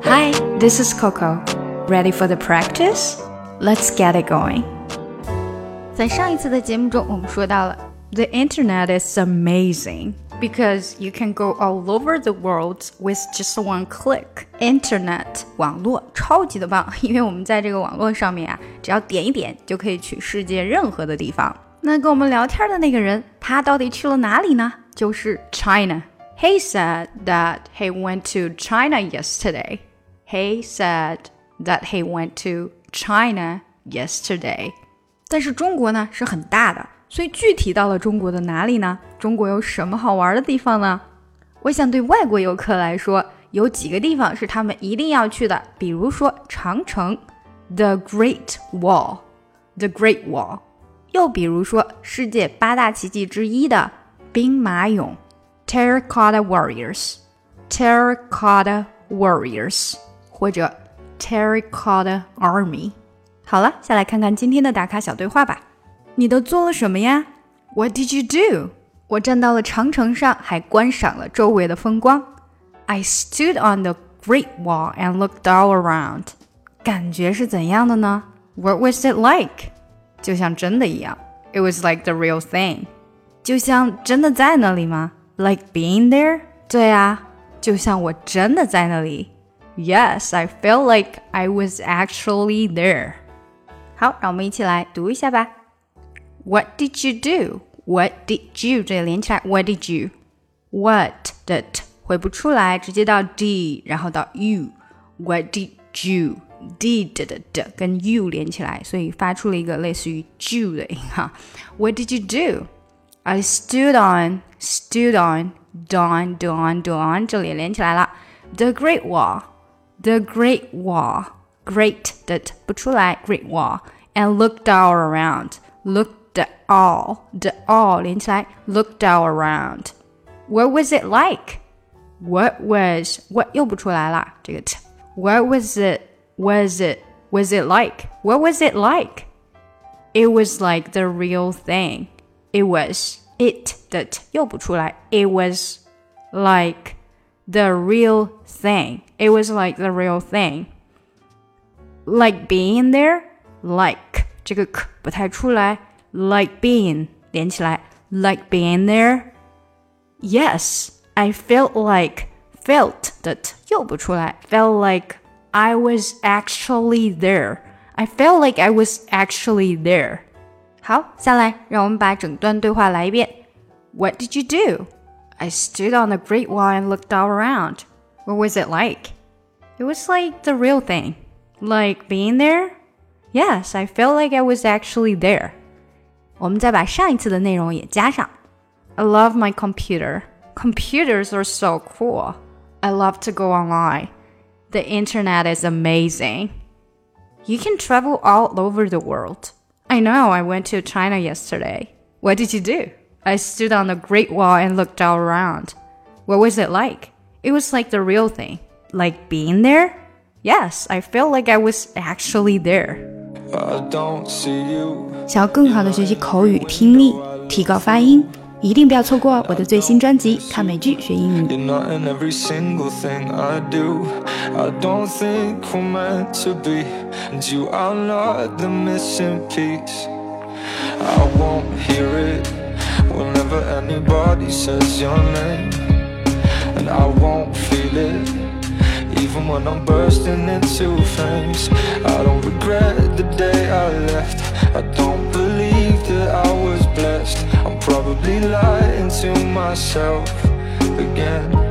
Hi, this is Coco. Ready for the practice? Let's get it going. 在上一次的节目中，我们说到了 The internet is amazing because you can go all over the world with just one click. Internet 网络超级的棒，因为我们在这个网络上面啊，只要点一点就可以去世界任何的地方。那跟我们聊天的那个人，他到底去了哪里呢？就是 China.He said that he went to China yesterday. He said that he went to China yesterday. 但是中国呢是很大的，所以具体到了中国的哪里呢？中国有什么好玩的地方呢？我想对外国游客来说，有几个地方是他们一定要去的，比如说长城 The Great Wall The Great Wall 又比如说世界8大奇迹之一的兵马俑Terracotta Warriors Terracotta Warriors 或者 Terracotta Army 好了，下来看看今天的打卡小对话吧。你都做了什么呀？ What did you do? 我站到了长城上，还观赏了周围的风光。 I stood on the Great Wall and looked all around. 感觉是怎样的呢？ What was it like? 就像真的一样。 It was like the real thing. 就像真的在那里吗？Like being there? 对啊，就像我真的在那里。Yes, I felt like I was actually there. 好，让我们一起来读一下吧。What did you do? What did you? 这里连起来 What did you? What 的 t 回不出来，直接到 d 然后到 u. What did you? Did 的 d 跟 u 连起来，所以发出了一个类似于 ju 的音哈。What did you do?I stood on, don, 这里连起来了。The Great Wall, Great 的不出来 Great Wall, and looked all around, looked all, the all 连起来 looked all around. What was it like? What 又不出来了，这个 t. What was it like? What was it like? It was like the real thing. It was it 的 t 又不出来 It was like the real thing. It was like the real thing. Like being there? Like 这个 k 不太出来 Like being 连起来 Like being there? Yes, I felt Felt 的 t 又不出来 Felt like I was actually there. I felt like I was actually there.好，下来让我们把整段对话来一遍。What did you do? I stood on the Great Wall and looked all around. What was it like? It was like the real thing. Like being there? Yes, I felt like I was actually there. 我们再把上一次的内容也加上。I love my computer. Computers are so cool. I love to go online. The internet is amazing. You can travel all over the world.I know, I went to China yesterday. What did you do? I stood on the Great Wall and looked all around. What was it like? It was like the real thing. Like being there? Yes, I felt like I was actually there. 想要更好的学习口语听力，提高发音，一定不要错过我的最新专辑《看美剧学英语》。 You're not in every single thing I do. I don't think we're meant to be, and you are not the missing piece. I won't hear it whenever anybody says your name, and I won't feel it even when I'm bursting into flames. I don't regret the day I left. I don't believe that I was blessed. I'm probably lying to myself again.